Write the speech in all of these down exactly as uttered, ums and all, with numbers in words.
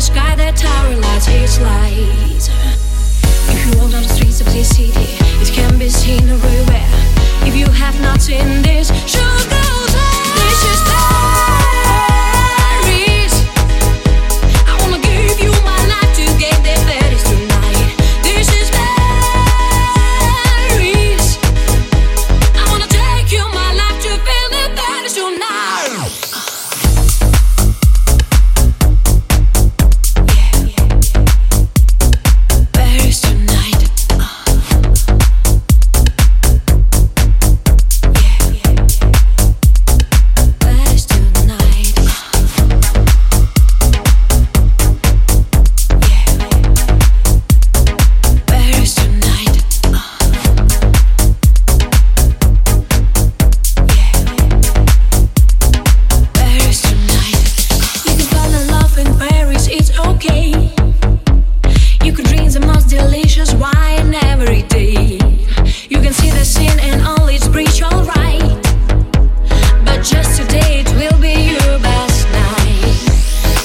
sky that tower lights its light. If you walk down the streets of this city, it can be seen everywhere. If you have not seen this, should go there. This is Paris. I wanna give you my life to get there Paris tonight. This is Paris. I wanna take you my life to feel the Paris tonight.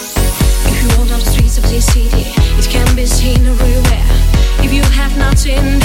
In